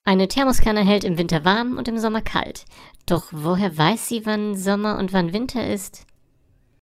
Eine Thermoskanne hält im Winter warm und im Sommer kalt. Doch woher weiß sie, wann Sommer und wann Winter ist?